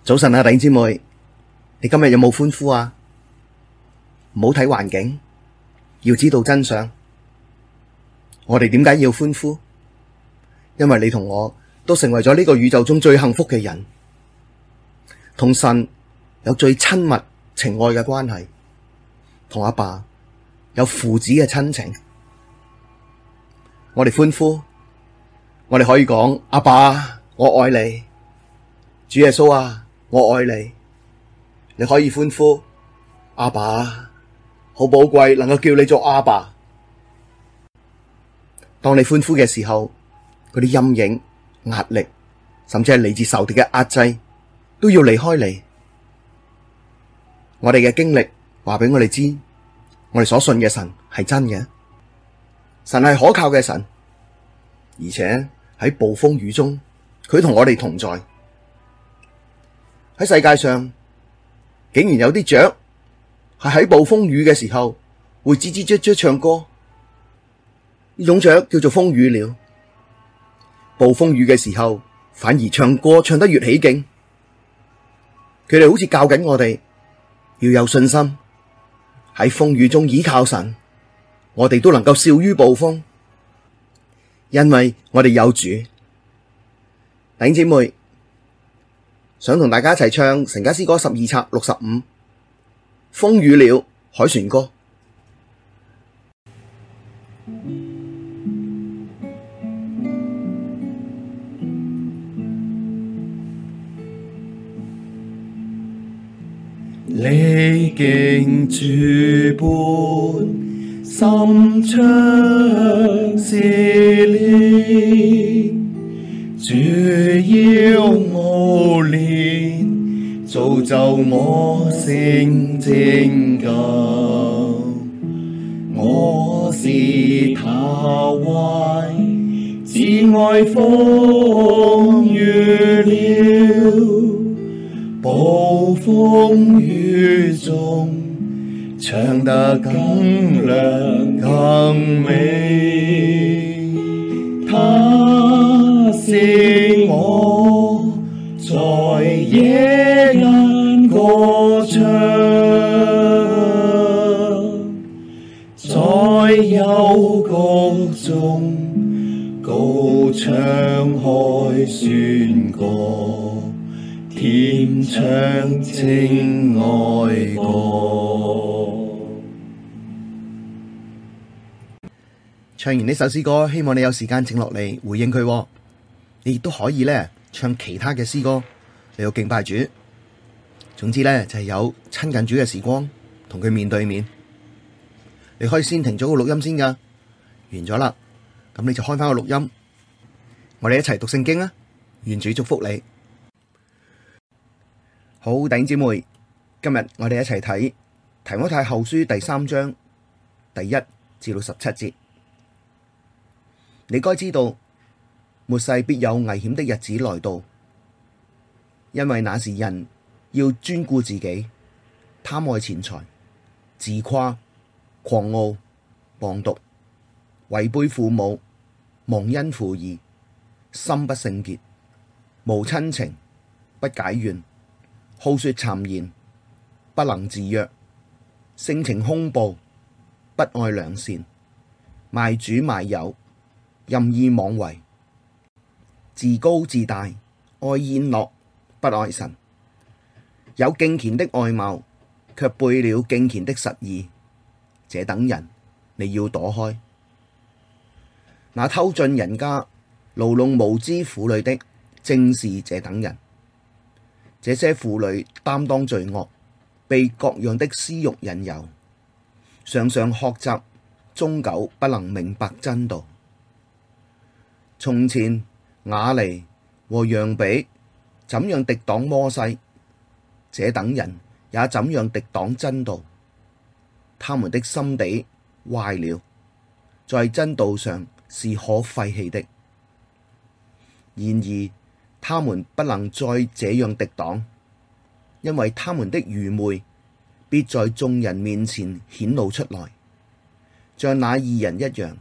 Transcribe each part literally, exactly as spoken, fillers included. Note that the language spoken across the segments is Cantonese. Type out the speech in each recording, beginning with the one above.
早晨啊，弟兄姊妹，你今日有冇歡呼啊？唔好睇環境，要知道真相。我哋點解要歡呼？因為你同我都成為咗呢個宇宙中最幸福嘅人，同神有最親密情愛嘅關係，同阿爸有父子嘅親情。我哋歡呼，我哋可以講：阿爸，我愛你，主耶穌啊！我愛你，你可以歡呼，阿爸，好寶貴，能夠叫你做阿爸。當你歡呼嘅時候，嗰啲陰影、壓力，甚至係嚟自仇敵嘅壓制，都要離開你。我哋嘅經歷話俾我哋知，我哋所信嘅神係真嘅，神係可靠嘅神，而且喺暴風雨中，佢同我哋同在。喺世界上，竟然有啲雀係喺暴風雨嘅時候會吱吱喳喳唱歌，呢種雀叫做風雨鳥。暴風雨嘅時候，反而唱歌唱得越起勁。佢哋好似教緊我哋要有信心，喺風雨中倚靠神，我哋都能夠笑於暴風，因為我哋有主。弟兄姊妹，想同大家一齊唱《神家詩歌》十二冊六十五《風雨鳥凱旋歌》。 歷經諸般深長試煉，主要熬煉，造就我成拯救。我是他懷至愛風雨鳥，暴風雨中唱得更亮更美，他使我在夜間歌唱，在幽谷中高唱凱旋歌，甜唱情愛歌。 唱完呢首詩歌，希望你有時間靜落嚟回應佢。你亦都可以咧唱其他嘅詩歌嚟到敬拜主。總之咧就係有親近主嘅時光，同佢面對面。你可以先停咗個錄音先噶，完咗啦，咁你就開翻個錄音，我哋一齊讀聖經啊！願主祝福你。好，弟兄姊妹，今日我哋一齊睇提摩太後書第三章第一至到十七節。你該知道，末世必有危險的日子來到，因為那時人要專顧自己，貪愛錢財，自誇，狂傲，謗讟，違背父母，忘恩負義，心不聖潔，無親情，不解怨，好說讒言，不能自約，性情兇暴，不愛良善，賣主賣友，任意妄為，自高自大，愛宴樂，不愛神，有敬虔的外貌，卻背了敬虔的實意，這等人你要躲開。那偷進人家，牢籠無知婦女的，正是這等人。這些婦女擔當罪惡，被各樣的私慾引誘，常常學習，終久不能明白真道。從前雅尼和楊比怎樣敵擋摩西，這等人也怎樣敵擋真道。他們的心地壞了，在真道上是可廢棄的。然而他們不能再這樣敵擋，因為他們的愚昧必在眾人面前顯露出來，像那二人一樣。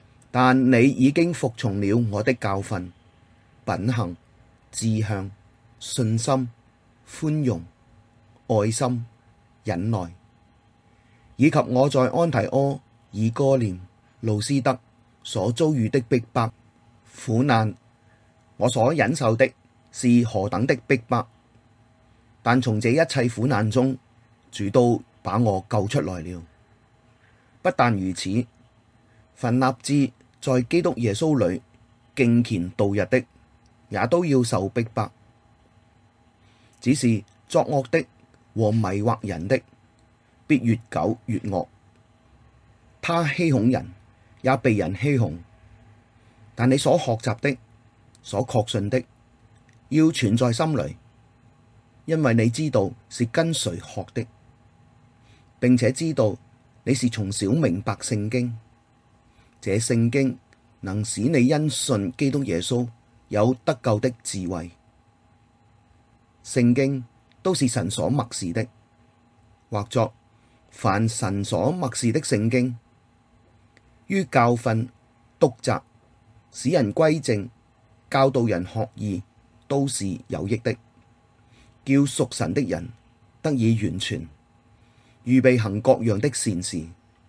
但你已經服從了我的教訓、品行、志向、 信心、寬容、愛心、忍耐，以及我在安提阿、以哥念、路斯德所遭遇的逼迫、苦難，我所忍受的是何等的逼迫，但從這一切苦難中，主都把我救出來了。不但如此，凡立志在基督耶穌裡敬虔度日的，也都要受逼迫。只是作惡的和迷惑人的，必越久越惡。他欺哄人，也被人欺哄。但你所學習的、所確信的，要存在心裡，因為你知道是跟誰學的，並且知道你是從小明白聖經。這聖經能使你因信基督耶穌有得救的智慧。聖經都是神所默示的，或作凡神所默示的聖經，於教訓、督責、使人歸正、教導人學義，都是有益的，叫屬神的人得以完全，預備行各樣的善事。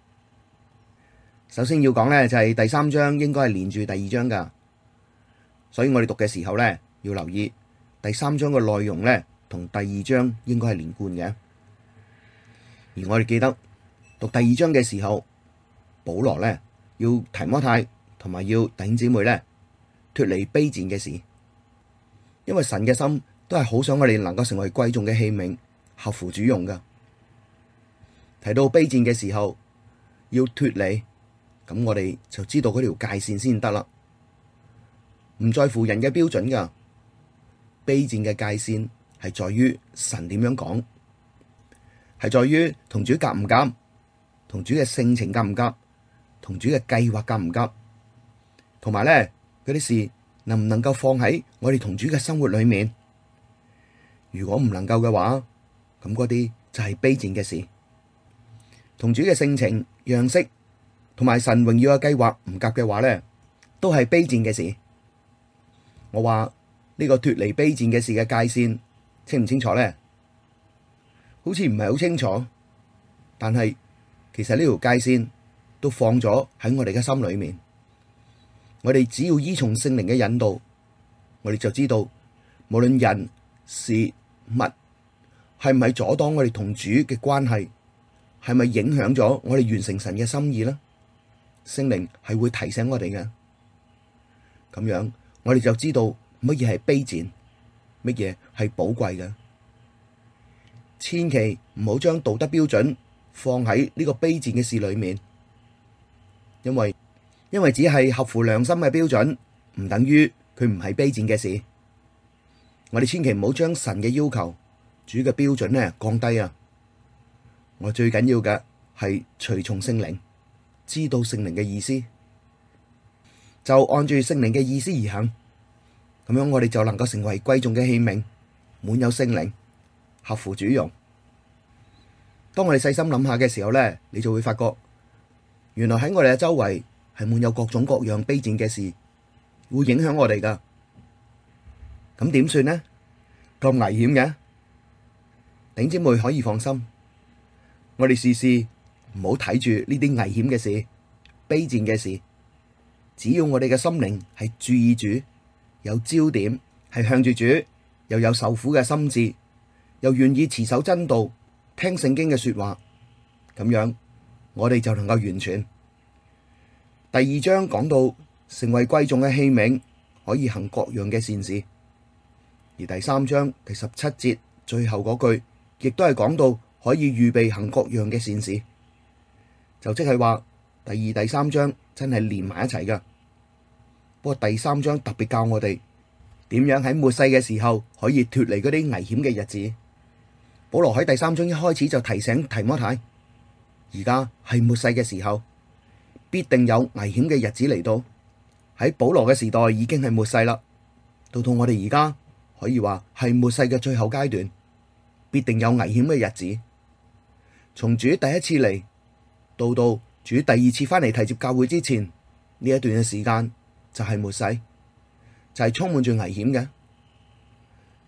首先要講呢，就係第三章應該係連住第二章噶，所以我哋讀嘅時候呢，要留意第三章嘅內容呢，同第二章應該係連貫嘅。而我哋記得讀第二章嘅時候，保羅呢要提摩太同埋要弟兄姊妹呢脫離卑賤嘅事，因為神嘅心都係好想我哋能夠成為貴重嘅器皿，合乎主用噶。提到卑賤嘅時候，要脫離，咁我哋就知道嗰條界線先得啦。唔在乎人嘅標準噶，卑賤嘅界線係在於神點樣講，係在於同主夾唔夾，同主嘅性情夾唔夾，同主嘅計劃夾唔夾，同埋咧嗰啲事能唔能夠放喺我哋同主嘅生活裏面。如果唔能夠嘅話，咁嗰啲就係卑賤嘅事，同主嘅性情、樣式同埋神榮耀嘅計劃唔夾嘅話咧，都係卑賤嘅事。我話呢個脫離卑賤嘅事嘅界線清唔清楚咧？好似唔係好清楚，但係其實呢條界線都放咗喺我哋嘅心裏面。我哋只要依從聖靈嘅引導，我哋就知道無論人事物係唔係阻擋我哋同主嘅關係，係咪影響咗我哋完成神嘅心意呢？聖靈係會提醒我哋嘅，咁樣我哋就知道乜嘢係卑賤，乜嘢係寶貴嘅。千祈唔好將道德標準放喺呢個卑賤嘅事裏面，因為因為只係合乎良心嘅標準，唔等於佢唔係卑賤嘅事。我哋千祈唔好將神嘅要求、主嘅標準咧降低啊！我最緊要嘅係隨從聖靈，知道聖靈嘅意思，就按住聖靈嘅意思而行。咁樣我哋就能夠成為貴重嘅器皿，滿有聖靈，合乎主用。當我哋細心諗下嘅時候咧，你就會發覺，原來喺我哋嘅周圍係滿有各種各樣卑賤嘅事，會影響我哋噶。咁點算呢？咁危險嘅，弟兄姊妹可以放心，我哋試試唔好睇住呢啲危險嘅事、卑賤嘅事。只要我哋嘅心靈係注意主，有焦點，係向住主，又有受苦嘅心志，又願意持守真道，聽聖經嘅說話，咁樣我哋就能夠完全。第二章講到成為貴重嘅器皿，可以行各樣嘅善事。而第三章第十七節最後嗰句，亦都係講到可以預備行各樣嘅善事，就即係話第二、第三章真係連埋一齊噶。不過第三章特別教我哋點樣喺末世嘅時候可以脫離嗰啲危險嘅日子。保羅喺第三章一開始就提醒提摩太，而家係末世嘅時候，必定有危險嘅日子嚟到。喺保羅嘅時代已經係末世啦，到到我哋而家可以話係末世嘅最後階段，必定有危險嘅日子。從主第一次嚟到到主第二次翻嚟提接教會之前，呢一段嘅時間就係末世，就係充滿住危險嘅。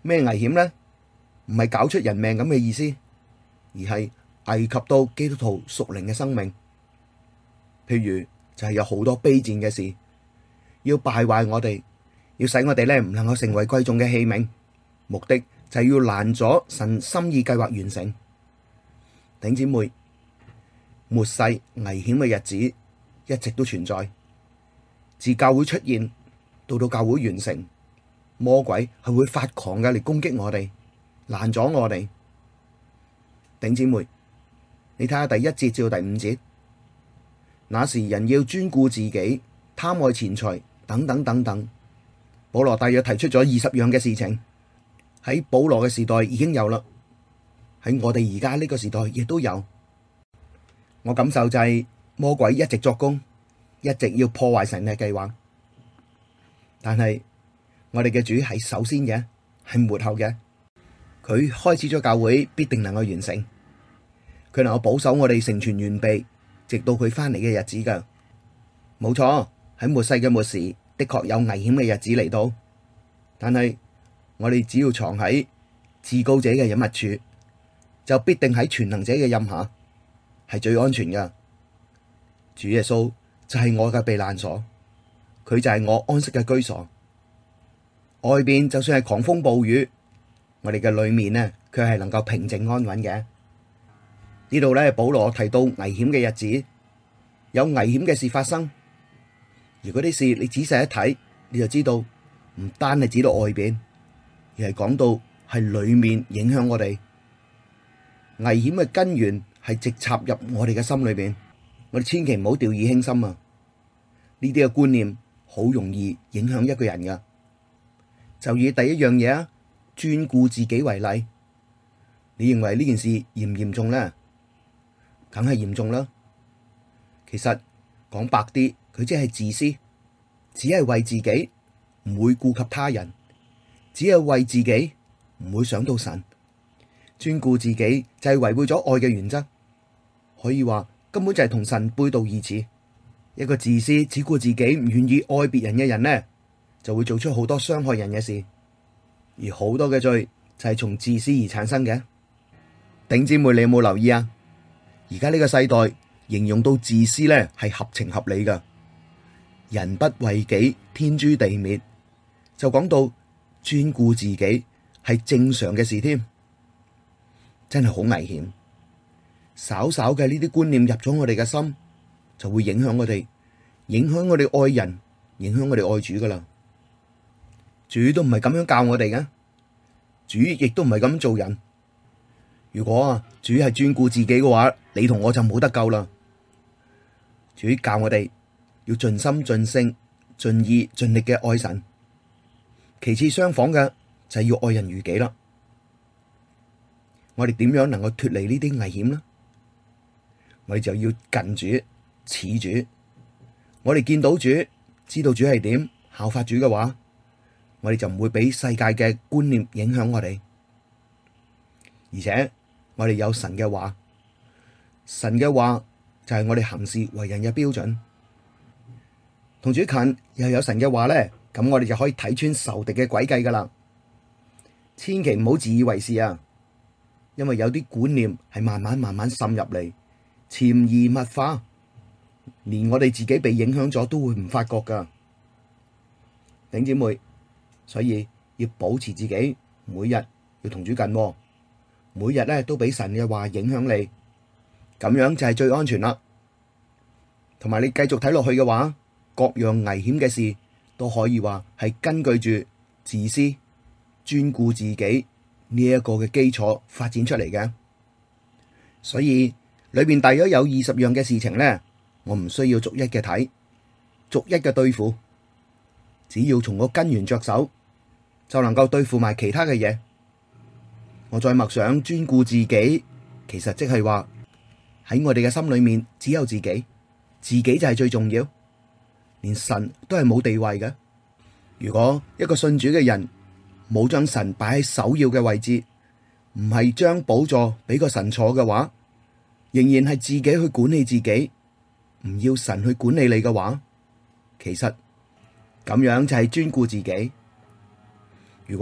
咩危險呢？唔係搞出人命咁嘅意思，而係危及到基督徒屬靈嘅生命。譬如就係有好多卑賤嘅事，要敗壞我哋，要使我哋咧唔能夠成為貴重嘅器皿，目的就係要攔阻神心意計劃完成。弟兄姊妹，末世危險嘅日子一直都存在，自教會出現到到教會完成，魔鬼係會發狂嘅嚟攻擊我哋，攔阻我哋。弟兄姊妹，你睇下第一節至到第五節，那時人要專顧自己，貪愛錢財，等等等等。保羅大約提出咗二十樣嘅事情，喺保羅嘅時代已經有啦，喺我哋而家呢個時代亦都有。我感受就係魔鬼一直作工，一直要破壞神嘅計劃。但係我哋嘅主係首先嘅，係末後嘅。佢開始咗教會，必定能夠完成。佢能夠保守我哋成全完備，直到佢翻嚟嘅日子噶。冇錯，喺末世嘅末時，的確有危險嘅日子嚟到。但係我哋只要藏喺至高者嘅隱密處，就必定喺全能者嘅蔭下，係最安全噶。主耶穌就係我嘅避難所，佢就係我安息嘅居所。外邊就算係狂風暴雨，我哋嘅裏面呢，佢係能夠平靜安穩嘅。呢度咧，保羅提到危險嘅日子，有危險嘅事發生。而嗰啲事你仔細一睇，你就知道唔單係指到外邊，而係講到係裏面影響我哋。危險嘅根源係直插入我哋嘅心裏邊，我哋千祈唔好掉以輕心啊！呢啲嘅觀念好容易影響一個人噶。就以第一樣嘢啊，專顧自己為例，你認為呢件事嚴唔嚴重呢？梗係嚴重啦。其實講白啲，佢即係自私，只係為自己，唔會顧及他人，只係為自己，唔會想到神。專顧自己就係違背咗愛嘅原則，可以話根本就係同神背道而馳。一個自私只顧自己，唔願意愛別人嘅人呢，就會做出好多傷害人嘅事，而好多嘅罪就係從自私而產生嘅。頂姊妹，你有冇留意啊？而家呢個世代形容到自私咧，係合情合理噶。人不為己，天誅地滅，就講到專顧自己係正常嘅事添，真係好危險。稍稍嘅呢啲觀念入咗我哋嘅心，就會影響我哋，影響我哋愛人，影響我哋愛主噶啦。主都唔係咁樣教我哋嘅，主亦都唔係咁做人。如果啊，主係專顧自己嘅話，你同我就冇得救啦。主教我哋要盡心盡性盡意盡力嘅愛神，其次相仿嘅就係要愛人如己啦。我哋點樣能夠脫離呢啲危險呢？我哋就要近主似主，我哋見到主，知道主係點，效法主嘅話，我哋就唔會俾世界嘅觀念影響我哋，而且我哋有神嘅話，神嘅話就係我哋行事為人嘅標準。同主近又有神嘅話咧，咁我哋就可以睇穿仇敵嘅詭計噶啦。千祈唔好自以為是啊，因為有啲觀念係慢慢慢慢滲入嚟，潛移默化，連我哋自己被影響咗都會唔發覺噶。弟兄姊妹，所以要保持自己，每日要同主近，每日咧都俾神嘅話影響你，咁樣就係最安全啦。同埋你繼續睇落去嘅話，各樣危險嘅事都可以話係根據住自私、專顧自己呢一個嘅基礎發展出嚟嘅。所以裏邊大約有二十樣嘅事情咧，我唔需要逐一嘅睇，逐一嘅對付，只要從個根源着手，就能夠對付埋其他嘅嘢。我再默想專顧自己，其實即係話喺我哋嘅心裏面只有自己，自己就係最重要，連神都係冇地位嘅。如果一個信主嘅人冇將神擺喺首要嘅位置，唔係將寶座俾個神坐嘅話，仍然係自己去管理自己，唔要神去管理你嘅話，其實咁樣就係專顧自己。如果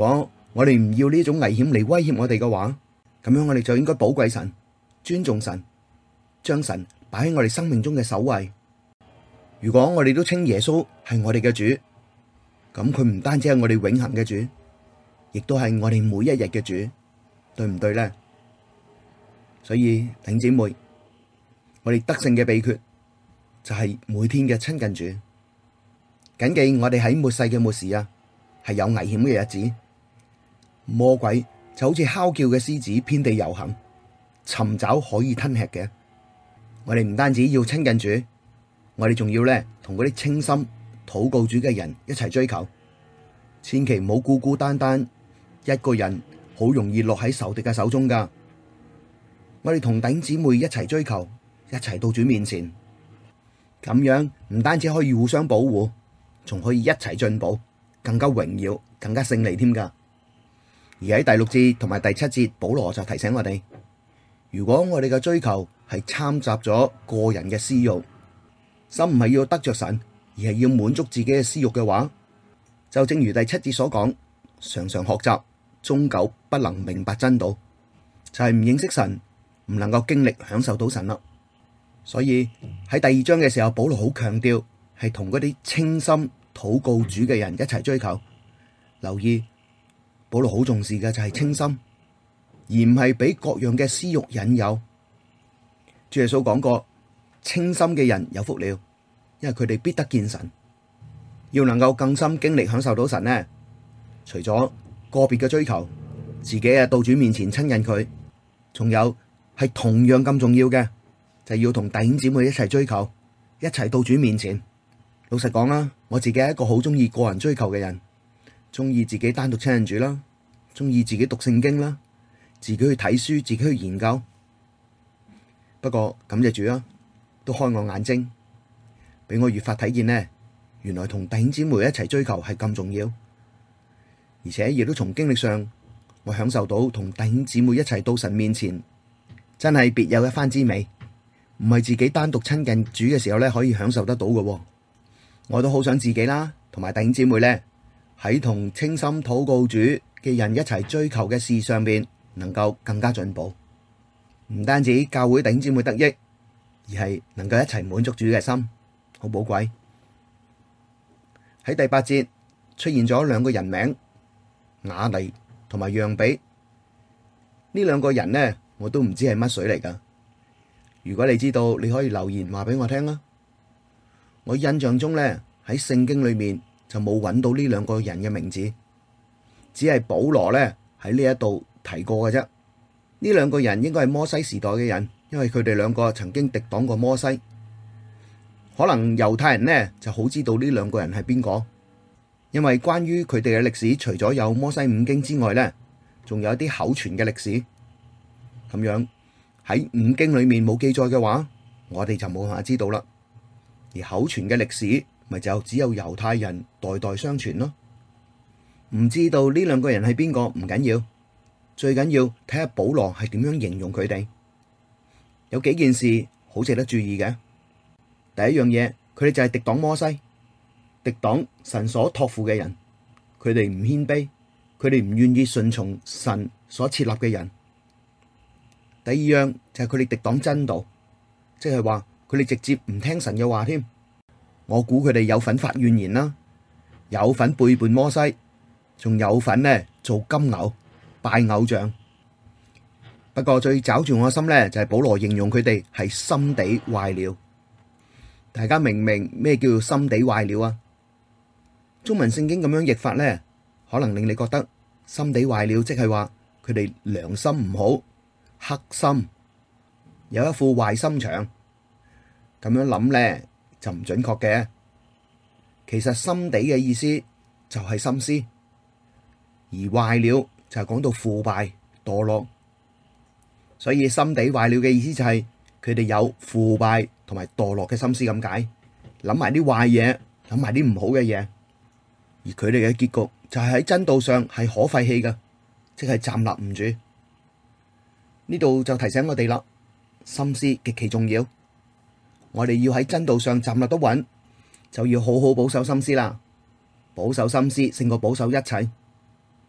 我哋唔要呢種危險嚟威脅我哋嘅話，咁樣我哋就應該寶貴神、尊重神，將神擺喺我哋生命中嘅首位。如果我哋都稱耶穌係我哋嘅主，咁佢唔單止係我哋永恆嘅主，亦都係我哋每一日嘅主，對唔對呢？所以弟兄姊妹，我哋得勝嘅秘訣就係每天嘅親近主。謹記我哋喺末世嘅末時啊，係有危險嘅日子，魔鬼就好似哮叫嘅獅子，遍地遊行，尋找可以吞吃嘅。我哋唔單止要親近主，我哋仲要咧同嗰啲清心禱告主嘅人一齊追求，千祈唔好孤孤單單一個人，好容易落喺仇敵嘅手中噶。我哋同弟兄姊妹一齊追求，一齊到主面前，咁樣唔單止可以互相保護，仲可以一齊進步，更加榮耀，更加勝利添噶。而喺第六節同埋第七節，保羅就提醒我哋，如果我哋嘅追求係摻雜咗個人嘅私欲，心唔係要得着神，而係要滿足自己嘅私欲嘅話，就正如第七節所講，常常學習，終究不能明白真道，就係唔認識神，唔能夠經歷享受到神啦。所以喺第二章嘅時候，保羅好強調係同嗰啲清心禱告主嘅人一齊追求。留意保羅好重視嘅就係清心，而唔係俾各樣嘅私欲引誘。主耶穌講過，清心嘅人有福了，因為佢哋必得見神。要能夠更深經歷享受到神呢，除咗個別嘅追求，自己啊到主面前親近佢，仲有係同樣咁重要嘅，就係要同弟兄姊妹一齊追求，一齊到主面前。老實講啦，我自己係一個好中意個人追求嘅人，中意自己單獨親近主啦，中意自己讀聖經啦，自己去睇書，自己去研究。不過感謝主啊，都開我眼睛，俾我越發睇見呢，原來同弟兄姊妹一齊追求係咁重要，而且亦都從經歷上，我享受到同弟兄姊妹一齊到神面前，真係別有一番滋味，唔係自己單獨親近主嘅時候咧可以享受得到嘅。我都好想自己啦，同埋弟兄姊妹咧喺同清心禱告主嘅人一齊追求嘅事上邊，能夠更加進步。唔單止教會弟兄姊妹得益，而係能夠一齊滿足主嘅心，好寶貴。喺第八節出現咗兩個人名，雅尼同埋讓比。呢兩個人呢，我都唔知係乜水嚟噶。如果你知道，你可以留言話俾我聽啦。我印象中呢，喺聖經裏面就冇揾到呢兩個人嘅名字，只係保羅呢喺呢一度提過嘅啫。呢兩個人應該係摩西時代嘅人，因為佢哋兩個曾經敵擋過摩西。可能猶太人呢就好知道呢兩個人係邊個，因為關於佢哋嘅歷史，除咗有摩西五經之外呢，仲有一啲口傳嘅歷史。咁樣喺五經裏面冇記載嘅話，我哋就冇辦法知道啦。而口傳嘅歷史，咪就只有猶太人代代相傳咯。唔知道呢兩個人係邊個唔緊要，最緊要睇下保羅係點樣形容佢哋。有幾件事好值得注意嘅。第一樣嘢，佢哋就係敵擋摩西，敵擋神所託付嘅人，佢哋唔謙卑，佢哋唔願意順從神所設立嘅人。第二樣就係佢哋敵擋真道，即係話佢哋直接唔聽神嘅話添。我估佢哋有份發怨言啦，有份背叛摩西，仲有份呢做金牛拜偶像。不過最抓住我心呢，就係保羅形容佢哋係心地壞了。大家明唔明咩叫做心地壞了啊？中文聖經咁樣譯法呢，可能令你覺得心地壞了，即係話佢哋良心唔好，黑心，有一副壞心腸。咁樣諗呢就唔準確嘅。其實心地嘅意思就係心思，而壞了就係講到腐敗墮落。所以心地壞了嘅意思就係佢哋有腐敗同埋墮落嘅心思咁解，諗埋啲壞嘢，諗埋啲唔好嘅嘢。而佢哋嘅結局就係喺真道上係可廢棄嘅，即係站立唔住。呢度就提醒我哋啦，心思極其重要。我哋要喺真道上站立得穩，就要好好保守心思啦。保守心思勝過保守一切。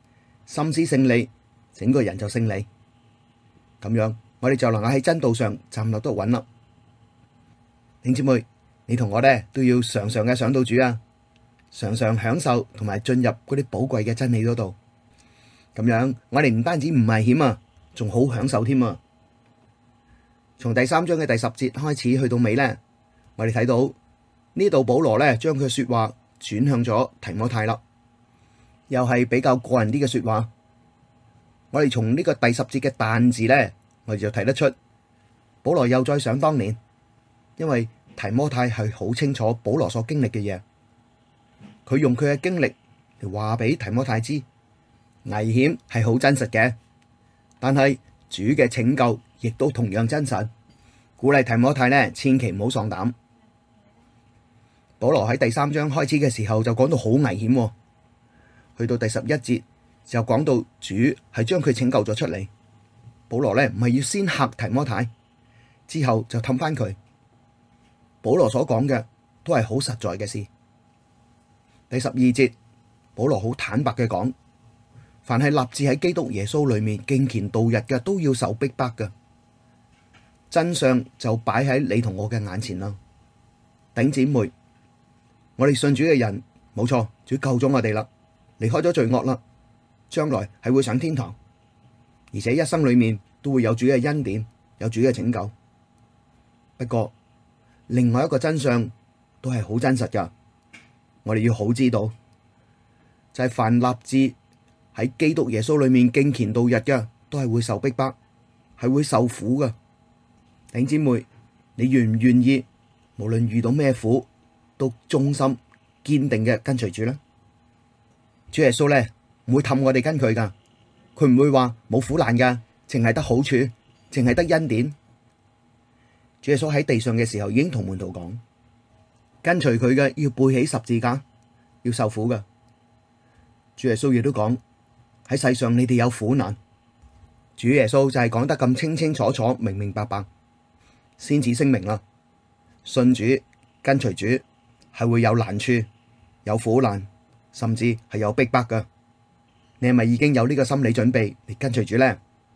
心思勝利，整個人就勝利。咁樣我哋就能夠喺真道上站立得穩啦。弟兄姊妹，你同我咧都要常常嘅想到主啊，常常享受同埋進入嗰啲寶貴嘅真理嗰度。咁樣我哋唔單止唔危險啊，仲好享受添啊！從第三章嘅第十節開始去到尾咧，我哋睇到呢度保羅咧將佢說話轉向咗提摩太啦，又係比較個人啲嘅說話。我哋從呢個第十節嘅但字咧，我哋就睇得出保羅又再想當年，因為提摩太係好清楚保羅所經歷嘅嘢，佢用佢嘅經歷嚟話俾提摩太知，危險係好真實嘅，但係主嘅拯救亦都同樣真實，鼓勵提摩太呢，千祈唔好喪膽。保羅喺第三章開始嘅時候就講到好危險，去到第十一節就講到主係將佢拯救咗出嚟。保羅呢唔係要先嚇提摩太，之後就氹翻佢。保羅所講嘅都係好實在嘅事。第十二節，保羅好坦白嘅講，凡係立志喺基督耶穌裏面敬虔度日嘅，都要受逼迫嘅。真相就擺喺你同我嘅眼前啦。弟兄姊妹，我哋信主嘅人，冇錯，主救咗我哋啦，離開咗罪惡啦，將來係會上天堂，而且一生裏面都會有主嘅恩典，有主嘅拯救。不過另外一個真相都係好真實噶，我哋要好知道，就係凡立志喺基督耶穌裏面敬虔度日嘅，都係會受逼迫，係會受苦噶。弟兄姊妹，你願唔願意無論遇到咩苦都忠心堅定嘅跟隨主呢？主耶穌咧唔會氹我哋跟佢噶，佢唔會話冇苦難噶，淨係得好處，淨係得恩典。主耶穌喺地上嘅時候已經同門徒講，跟隨佢嘅要背起十字架，要受苦噶。主耶穌亦都講，喺世上你哋有苦難。主耶穌就係講得咁清清楚楚、明明白白，先至聲明啦。信主跟隨主係會有難處、有苦難，甚至係有逼迫噶。你係咪已經有呢個心理準備嚟跟隨主呢？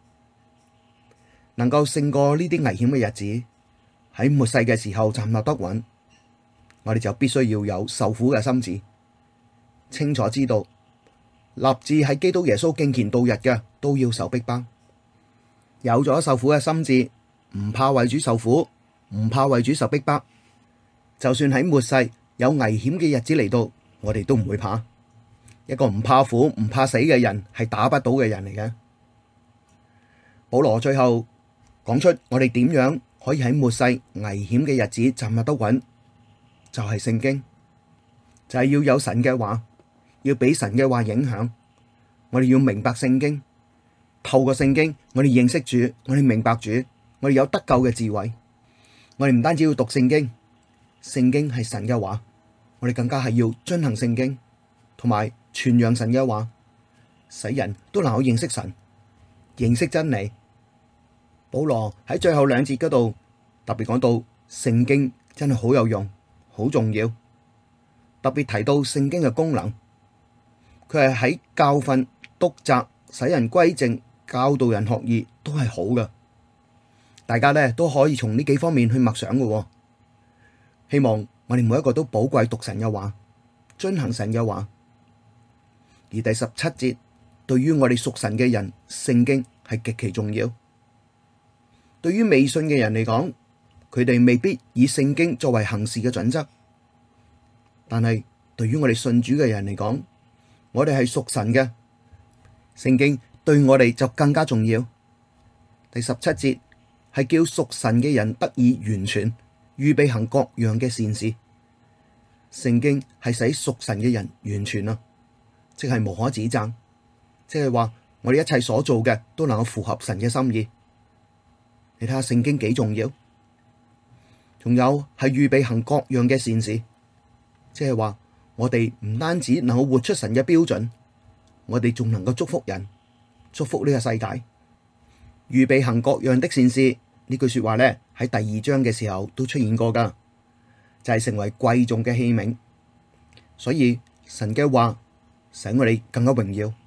能夠勝過呢啲危險嘅日子，喺末世嘅時候站立得穩，我哋就必須要有受苦嘅心志，清楚知道立志喺基督耶穌敬虔度日嘅都要受逼迫。有咗受苦嘅心志，唔怕為主受苦，唔怕為主受逼迫，就算喺末世有危險嘅日子嚟到，我哋都唔會怕。一個唔怕苦唔怕死嘅人係打不倒嘅人嚟嘅。保羅最後講出我哋點樣可以喺末世危險嘅日子站立得穩，就係聖經，就係要有神嘅話，要俾神嘅話影響。我哋要明白聖經，透過聖經我哋認識主，我哋明白主，我哋有得救嘅智慧。我哋唔單止要讀聖經，聖經係神嘅話，我哋更加係要遵行聖經，同埋傳揚神嘅話，使人都能夠認識神，認識真理。保羅喺最後兩節嗰度特別講到聖經真係好有用，好重要，特別提到聖經嘅功能，佢係喺教訓、督責、使人歸正、教導人學義都係好嘅。大家咧都可以從呢幾方面去默想嘅。希望我哋每一個都寶貴讀神嘅話，遵行神嘅話。而第十七節，對於我哋屬神嘅人，聖經係極其重要。對於未信嘅人嚟講，佢哋未必以聖經作為行事嘅準則，但係對於我哋信主嘅人嚟講，我哋係屬神嘅，聖經對我哋就更加重要。第十七節係叫屬神嘅人得以完全，預備行各樣嘅善事。聖經係使屬神嘅人完全啊，即係無可指責，即係話我哋一切所做嘅都能夠符合神嘅心意。你睇下聖經幾重要，仲有係預備行各樣嘅善事，即係話我哋唔單止能夠活出神嘅標準，我哋仲能夠祝福人，祝福呢個世界。預備行各樣的善事呢句說話咧，喺第二章嘅時候都出現過噶，就係成為貴重嘅器皿。所以神嘅話使我哋更加榮耀，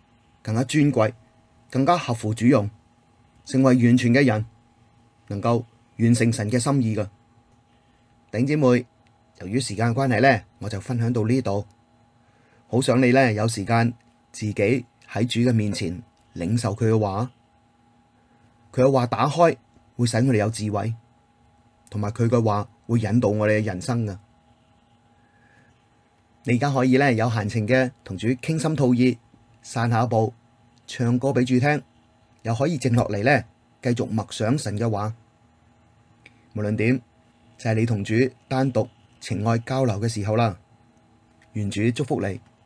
更加尊貴，更加合乎主用，成為完全嘅人，能夠完成神嘅心意噶。弟兄姊妹，由於時間關係呢，我就分享到呢度。好想你呢，有時間自己喺主嘅面前領受佢嘅話，佢嘅話打開會使我哋有智慧，同埋佢嘅話會引導我哋嘅人生噶。你而家可以呢，有閒情嘅同主傾心吐意，散下步，唱歌俾主聽，又可以靜落嚟呢，繼續默想神嘅話。無論點，就係你同主單獨情愛交流嘅時候啦。願主祝福你。